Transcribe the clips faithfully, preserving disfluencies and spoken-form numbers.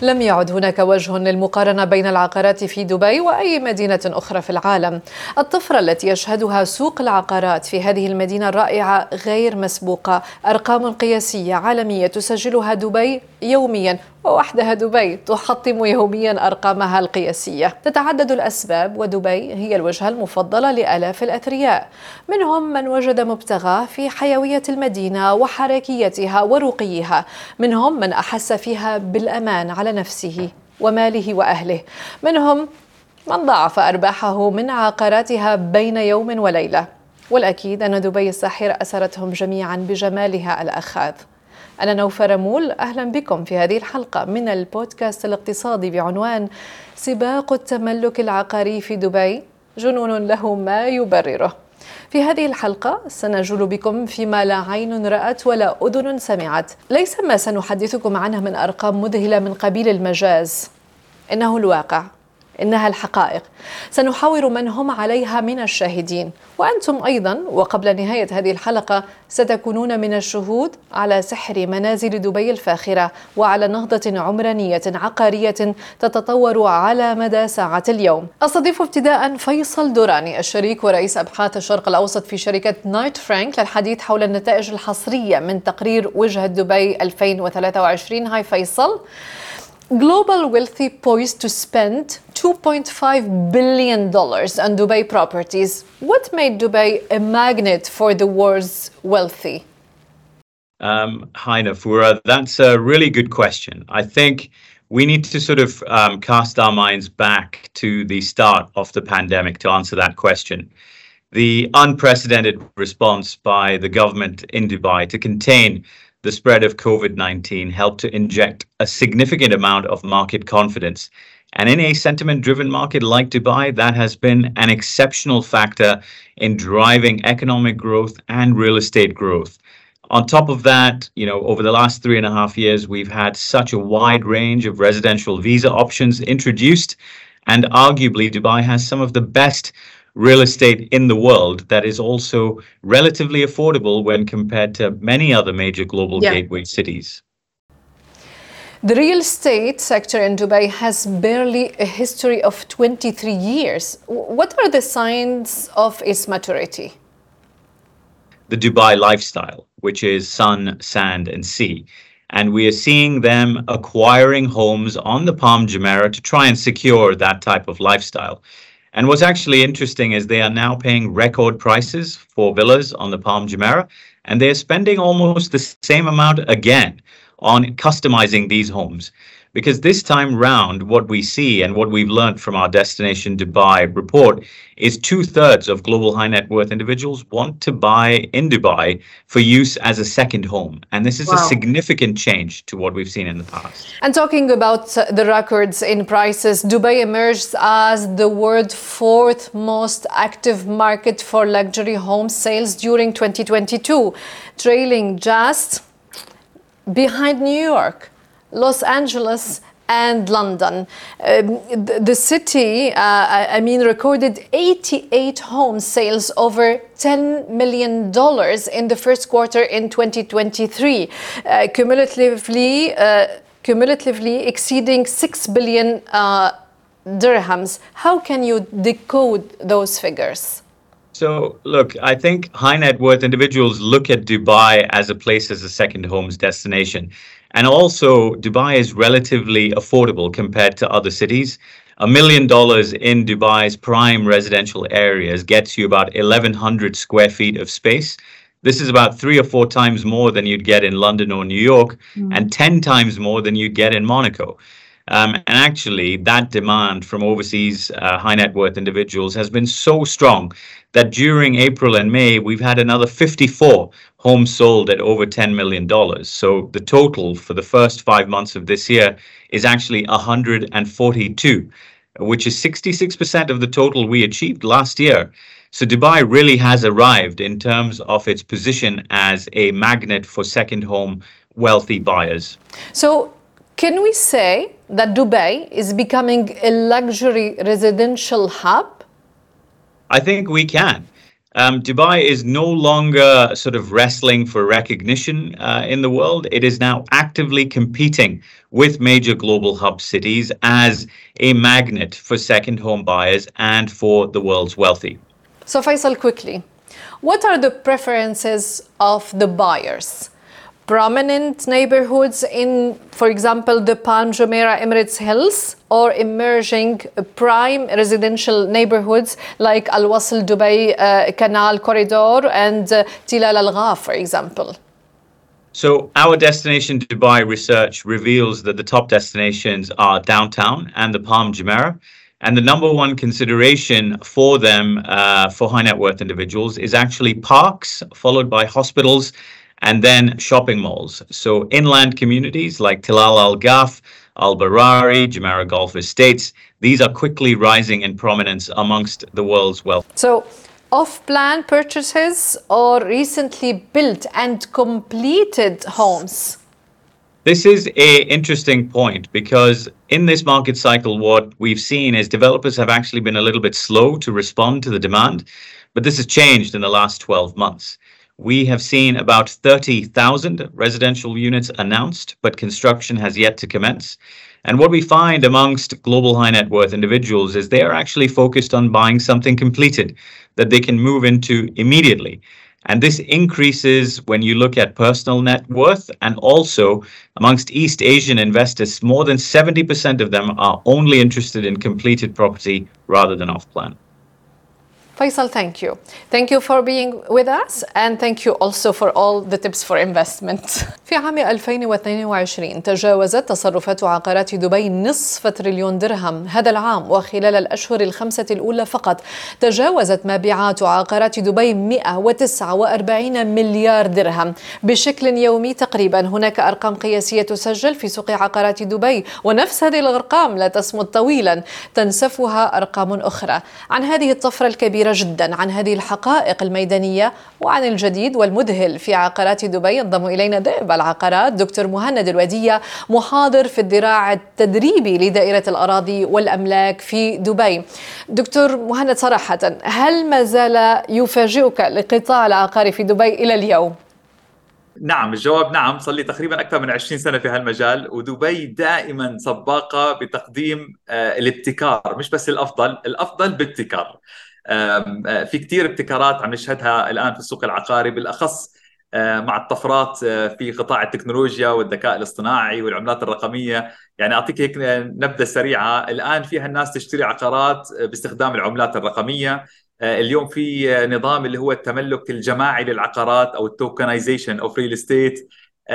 لم يعد هناك وجه للمقارنة بين العقارات في دبي وأي مدينة أخرى في العالم. الطفرة التي يشهدها سوق العقارات في هذه المدينة الرائعة غير مسبوقة. أرقام قياسية عالمية تسجلها دبي يوميا، ووحدها دبي تحطم يوميا أرقامها القياسية. تتعدد الأسباب، ودبي هي الوجهة المفضلة لآلاف الأثرياء، منهم من وجد مبتغاه في حيوية المدينة وحركيتها ورقيها، منهم من أحس فيها بالأمان على نفسه وماله وأهله، منهم من ضاعف أرباحه من عقاراتها بين يوم وليلة. والأكيد أن دبي الساحرة أسرتهم جميعا بجمالها الأخاذ. أنا نوفة رمول، أهلا بكم في هذه الحلقة من البودكاست الاقتصادي بعنوان سباق التملك العقاري في دبي، جنون له ما يبرره. في هذه الحلقة سنجول بكم فيما لا عين رأت ولا أذن سمعت. ليس ما سنحدثكم عنه من أرقام مذهلة من قبيل المجاز، إنه الواقع، إنها الحقائق. سنحاور من هم عليها من الشاهدين، وأنتم أيضا وقبل نهاية هذه الحلقة ستكونون من الشهود على سحر منازل دبي الفاخرة وعلى نهضة عمرانية عقارية تتطور على مدى ساعة اليوم. أستضيف ابتداء فيصل دوراني، الشريك ورئيس أبحاث الشرق الأوسط في شركة نايت فرانك، للحديث حول النتائج الحصرية من تقرير وجهة دبي ألفين وثلاثة وعشرين. هاي فيصل. Global wealthy poised to spend two point five billion dollars on Dubai properties. What made Dubai a magnet for the world's wealthy? Um, hi, Nafura. That's a really good question. I think we need to sort of um, cast our minds back to the start of the pandemic to answer that question. The unprecedented response by the government in Dubai to contain the spread of COVID nineteen helped to inject a significant amount of market confidence. And in a sentiment-driven market like Dubai, that has been an exceptional factor in driving economic growth and real estate growth. On top of that, you know, over the last three and a half years, we've had such a wide range of residential visa options introduced, and arguably Dubai has some of the best real estate in the world that is also relatively affordable when compared to many other major global yeah. gateway cities. The real estate sector in Dubai has barely a history of twenty-three years. What are the signs of its maturity? The Dubai lifestyle, which is sun, sand, and sea. And we are seeing them acquiring homes on the Palm Jumeirah to try and secure that type of lifestyle. And what's actually interesting is they are now paying record prices for villas on the Palm Jumeirah, and they're spending almost the same amount again on customizing these homes. Because this time round, what we see and what we've learned from our Destination Dubai report is two-thirds of global high net worth individuals want to buy in Dubai for use as a second home. And this is wow. a significant change to what we've seen in the past. And talking about the records in prices, Dubai emerged as the world's fourth most active market for luxury home sales during twenty twenty-two, trailing just behind New York, Los Angeles, and London. Um, the, the city, uh, I mean, recorded eighty-eight home sales over ten million dollars in the first quarter in twenty twenty-three, uh, cumulatively, uh, cumulatively exceeding six billion uh, dirhams. How can you decode those figures? So, look, I think high net worth individuals look at Dubai as a place as a second home's destination. And also, Dubai is relatively affordable compared to other cities. A million dollars in Dubai's prime residential areas gets you about eleven hundred square feet of space. This is about three or four times more than you'd get in London or New York, mm. and ten times more than you'd get in Monaco. Um, and actually, that demand from overseas uh, high net worth individuals has been so strong that during April and May, we've had another fifty-four homes sold at over ten million dollars. So the total for the first five months of this year is actually one hundred forty-two, which is sixty-six percent of the total we achieved last year. So Dubai really has arrived in terms of its position as a magnet for second home wealthy buyers. So can we say that Dubai is becoming a luxury residential hub? I think we can. Um, Dubai is no longer sort of wrestling for recognition uh, in the world. It is now actively competing with major global hub cities as a magnet for second home buyers and for the world's wealthy. So Faisal, quickly, what are the preferences of the buyers? Prominent neighborhoods in, for example, the Palm Jumeirah Emirates Hills, or emerging prime residential neighborhoods like Al Wasl Dubai uh, Canal Corridor and uh, Tilal Al Ghaf, for example? So our Destination Dubai research reveals that the top destinations are downtown and the Palm Jumeirah. And the number one consideration for them, uh, for high net worth individuals, is actually parks, followed by hospitals, and then shopping malls. So inland communities like Tilal Al Ghaf, Al Barari, Jumeirah Golf Estates, these are quickly rising in prominence amongst the world's wealth. So off-plan purchases or recently built and completed homes? This is a interesting point because in this market cycle, what we've seen is developers have actually been a little bit slow to respond to the demand, but this has changed in the last twelve months. We have seen about thirty thousand residential units announced, but construction has yet to commence. And what we find amongst global high net worth individuals is they are actually focused on buying something completed that they can move into immediately. And this increases when you look at personal net worth, and also amongst East Asian investors, more than seventy percent of them are only interested in completed property rather than off-plan. Faisal, thank you. Thank you for being with us, and thank you also for all the tips for investment. في عام ألفين واثنين وعشرين تجاوزت تصرفات عقارات دبي نصف تريليون درهم. هذا العام وخلال الأشهر الخمسة الأولى فقط تجاوزت مبيعات عقارات دبي مئة وتسعة وأربعين مليار درهم بشكل يومي تقريبا. هناك أرقام قياسية تسجل في سوق عقارات دبي، ونفس هذه الأرقام لا تصمد طويلا تنسفها أرقام أخرى. عن هذه الطفرة الكبيرة جدا، عن هذه الحقائق الميدانية وعن الجديد والمذهل في عقارات دبي، ينضم إلينا ذئب العقارات دكتور مهند الودية، محاضر في الذراع التدريبي لدائرة الأراضي والأملاك في دبي. دكتور مهند، صراحة هل ما زال يفاجئك القطاع العقاري في دبي إلى اليوم؟ نعم، الجواب نعم. صار لي تقريبا أكثر من عشرين سنة في هالمجال، ودبي دائما سباقة بتقديم الابتكار، مش بس الأفضل، الأفضل بابتكار. في كتير ابتكارات عم نشهدها الآن في السوق العقاري، بالأخص مع الطفرات في قطاع التكنولوجيا والذكاء الاصطناعي والعملات الرقمية. يعني أعطيك هيك نبذة سريعة. الآن فيها الناس تشتري عقارات باستخدام العملات الرقمية. اليوم في نظام اللي هو التملك الجماعي للعقارات أو التوكنايزيشن أو ريل استيت.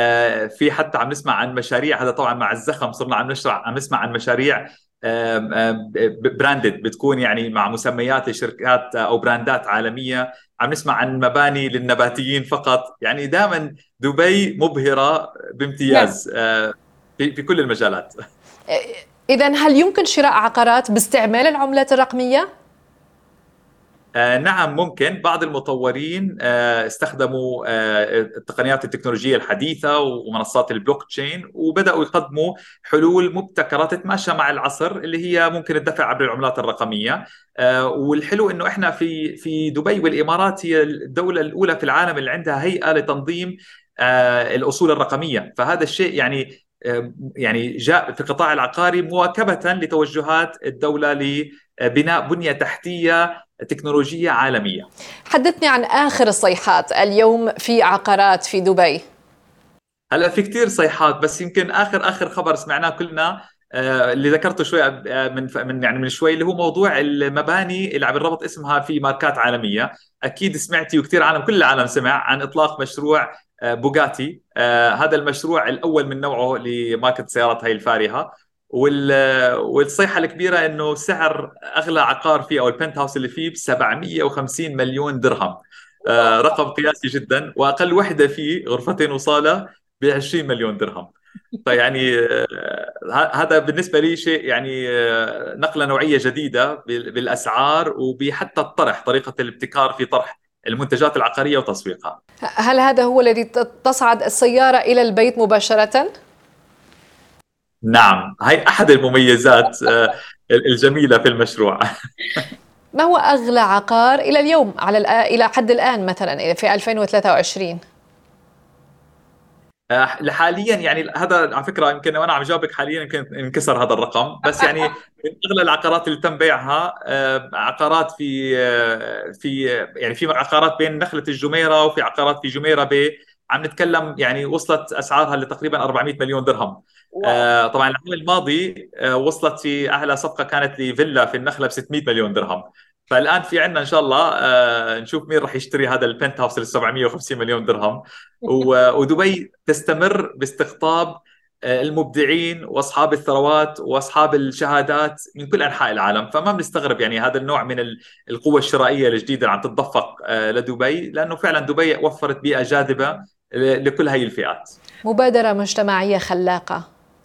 في حتى عم نسمع عن مشاريع، هذا طبعا مع الزخم صرنا عم نشرح عم نسمع عن مشاريع براندد، بتكون يعني مع مسميات لشركات او براندات عالميه. عم نسمع عن مباني للنباتيين فقط. يعني دائما دبي مبهره بامتياز في في كل المجالات. اذا هل يمكن شراء عقارات باستعمال العملات الرقميه؟ آه نعم ممكن. بعض المطورين آه استخدموا آه التقنيات التكنولوجية الحديثة ومنصات البلوك تشين، وبدأوا يقدموا حلول مبتكرة تتماشى مع العصر اللي هي ممكن الدفع عبر العملات الرقمية. آه والحلو إنه إحنا في في دبي والإمارات هي الدولة الأولى في العالم اللي عندها هيئة لتنظيم آه الأصول الرقمية. فهذا الشيء يعني يعني جاء في القطاع العقاري مواكبة لتوجهات الدولة لبناء بنية تحتية تكنولوجية عالمية. حدثني عن آخر الصيحات اليوم في عقارات في دبي. هلا في كتير صيحات، بس يمكن آخر آخر خبر سمعناه كلنا آه اللي ذكرته شوي من من يعني من شوي، اللي هو موضوع المباني اللي عم يربط اسمها في ماركات عالمية. أكيد سمعتي وكتير عالم، كل العالم سمع عن إطلاق مشروع آه بوغاتي. آه هذا المشروع الأول من نوعه لماركة السيارات هاي الفارهة. والصيحة الكبيرة إنه سعر أغلى عقار فيه أو البنت هاوس اللي فيه ب سبعمئة وخمسين مليون درهم. آه رقم قياسي جدا. وأقل وحدة فيه غرفتين وصالة ب عشرين مليون درهم. فيعني آه هذا بالنسبة لي شيء يعني آه نقلة نوعية جديدة بالأسعار وبحتى الطرح، طريقة الابتكار في طرح المنتجات العقارية وتسويقها. هل هذا هو الذي تصعد السيارة إلى البيت مباشرة؟ نعم، هاي أحد المميزات الجميلة في المشروع. ما هو أغلى عقار إلى اليوم على إلى حد الآن مثلا في ألفين وثلاثة وعشرين؟ حاليا يعني هذا على فكره يمكن وانا عم جاوبك حاليا يمكن انكسر هذا الرقم، بس يعني من اغلى العقارات اللي تم بيعها عقارات في في يعني في عقارات بين نخله الجميره وفي عقارات في جميره بي، عم نتكلم يعني وصلت اسعارها لتقريبا أربعمئة مليون درهم. واو. طبعا العام الماضي وصلت في اعلى صفقه كانت لفيلا في النخله ب ستمئة مليون درهم. فالان في عندنا ان شاء الله نشوف مين راح يشتري هذا البنت هاوس ل سبعمئة وخمسين مليون درهم. ودبي تستمر باستقطاب المبدعين واصحاب الثروات واصحاب الشهادات من كل انحاء العالم، فما بنستغرب يعني هذا النوع من القوه الشرائيه الجديده اللي عم تتدفق لدبي، لانه فعلا دبي وفرت بيئه جاذبه لكل هاي الفئات. مبادره مجتمعيه خلاقه.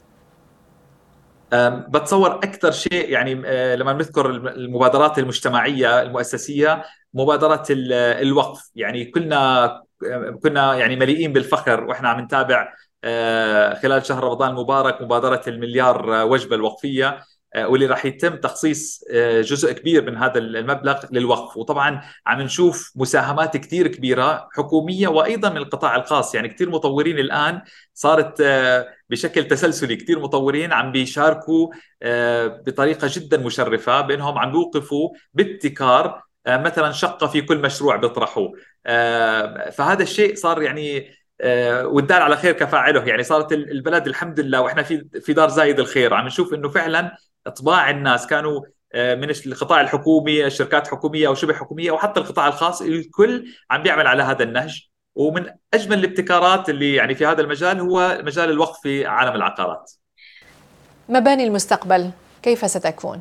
بتصور اكثر شيء يعني لما نذكر المبادرات المجتمعيه المؤسسيه مبادره الوقف، يعني كلنا كنا يعني مليئين بالفخر واحنا عم نتابع خلال شهر رمضان المبارك مبادره المليار وجبه الوقفيه، واللي راح يتم تخصيص جزء كبير من هذا المبلغ للوقف. وطبعا عم نشوف مساهمات كثير كبيره حكوميه وايضا من القطاع الخاص، يعني كثير مطورين الان صارت بشكل تسلسلي، كثير مطورين عم بيشاركوا بطريقه جدا مشرفه بانهم عم بيوقفوا بابتكار مثلا شقه في كل مشروع بيطرحوه. فهذا الشيء صار يعني والدال على خير كفاعله، يعني صارت البلد الحمد لله واحنا في في دار زايد الخير. عم نشوف انه فعلا اطباع الناس كانوا من القطاع الحكومي، الشركات الحكوميه او شبه حكوميه وحتى القطاع الخاص، الكل عم بيعمل على هذا النهج. ومن اجمل الابتكارات اللي يعني في هذا المجال هو مجال الوقف في عالم العقارات. مباني المستقبل كيف ستكون؟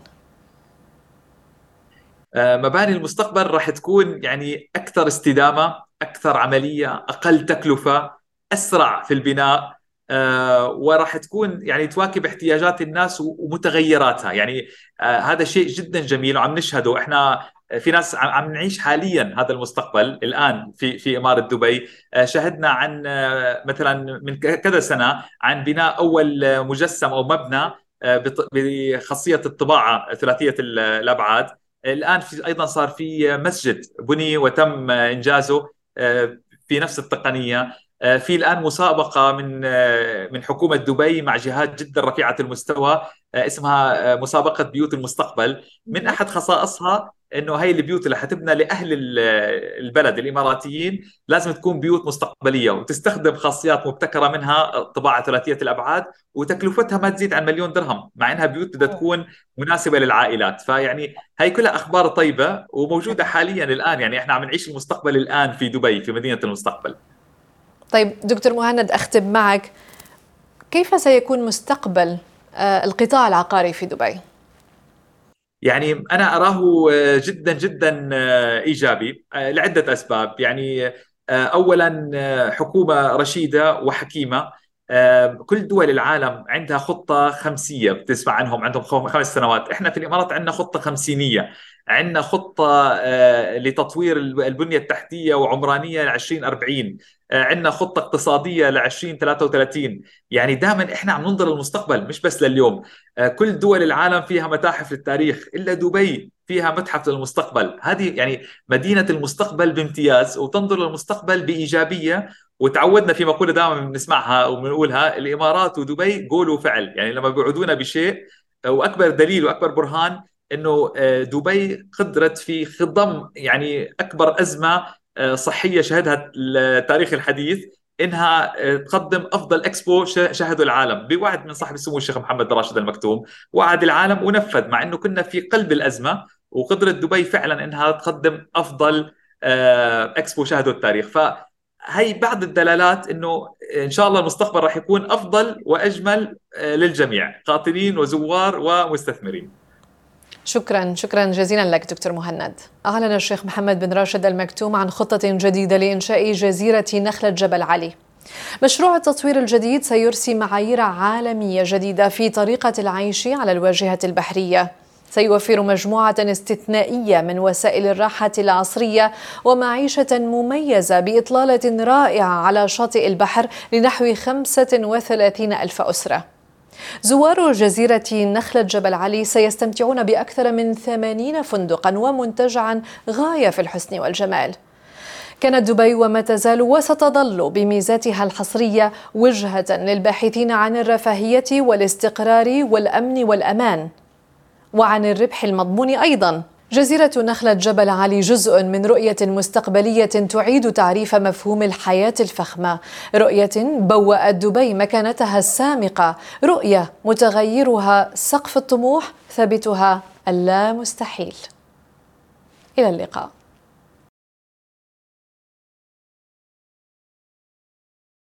مباني المستقبل راح تكون يعني اكثر استدامه، اكثر عمليه، اقل تكلفه، اسرع في البناء، آه وراح تكون يعني تواكب احتياجات الناس ومتغيراتها. يعني آه هذا شيء جدا جميل وعم نشهده احنا. في ناس عم نعيش حاليا هذا المستقبل الان في في اماره دبي. آه شهدنا عن آه مثلا من كذا سنه عن بناء اول مجسم او مبنى آه بخاصيه الطباعه ثلاثيه الابعاد. الآن في أيضا صار في مسجد بني وتم إنجازه في نفس التقنية. في الآن مسابقة من من حكومة دبي مع جهات جدا رفيعة المستوى اسمها مسابقة بيوت المستقبل. من أحد خصائصها انه هي البيوت اللي حتبنى لاهل البلد الاماراتيين لازم تكون بيوت مستقبليه وتستخدم خاصيات مبتكره منها طباعه ثلاثيه الابعاد، وتكلفتها ما تزيد عن مليون درهم، مع انها بيوت بدها تكون مناسبه للعائلات. فيعني هي كلها اخبار طيبه وموجوده حاليا الان، يعني احنا عم نعيش المستقبل الان في دبي في مدينه المستقبل. طيب دكتور مهند، اختم معك، كيف سيكون مستقبل القطاع العقاري في دبي؟ يعني أنا أراه جدا جدا إيجابي لعدة أسباب. يعني أولا حكومة رشيدة وحكيمة. كل دول العالم عندها خطة خمسية، بتسمع عنهم عندهم خمس سنوات. إحنا في الإمارات عندنا خطة خمسينية، عندنا خطة لتطوير البنية التحتية وعمرانية لعشرين أربعين، عندنا خطة اقتصادية لعشرين ثلاثة وثلاثين. يعني دائما إحنا عم ننظر للمستقبل مش بس لليوم. كل دول العالم فيها متاحف للتاريخ، إلا دبي فيها متحف للمستقبل. هذه يعني مدينة المستقبل بامتياز، وتنظر للمستقبل بإيجابية. وتعودنا في مقولة دائما بنسمعها وبنقولها، الإمارات ودبي قول وفعل. يعني لما بيوعدونا بشيء، وأكبر دليل وأكبر برهان انه دبي قدرت في خضم يعني اكبر ازمه صحيه شهدها التاريخ الحديث انها تقدم افضل اكسبو شهده العالم، بوعد من صاحب السمو الشيخ محمد بن راشد المكتوم. وعد العالم ونفذ، مع انه كنا في قلب الازمه، وقدرت دبي فعلا انها تقدم افضل اكسبو شهده التاريخ. فهي بعض الدلالات انه ان شاء الله المستقبل راح يكون افضل واجمل للجميع، قاطنين وزوار ومستثمرين. شكرا شكرا جزيلا لك دكتور مهند. أعلن الشيخ محمد بن راشد المكتوم عن خطة جديدة لإنشاء جزيرة نخلة جبل علي. مشروع التطوير الجديد سيرسي معايير عالمية جديدة في طريقة العيش على الواجهة البحرية، سيوفر مجموعة استثنائية من وسائل الراحة العصرية ومعيشة مميزة بإطلالة رائعة على شاطئ البحر لنحو خمسة وثلاثين ألف أسرة. زوار جزيرة نخلة جبل علي سيستمتعون بأكثر من ثمانين فندقا ومنتجعا غاية في الحسن والجمال. كانت دبي وما تزال وستظل بميزاتها الحصرية وجهة للباحثين عن الرفاهية والاستقرار والأمن والأمان وعن الربح المضمون أيضا. جزيرة نخلة جبل علي جزء من رؤية مستقبلية تعيد تعريف مفهوم الحياة الفخمة، رؤية بوأت دبي مكانتها السامقة، رؤية متغيرها سقف الطموح ثابتها اللا مستحيل. إلى اللقاء.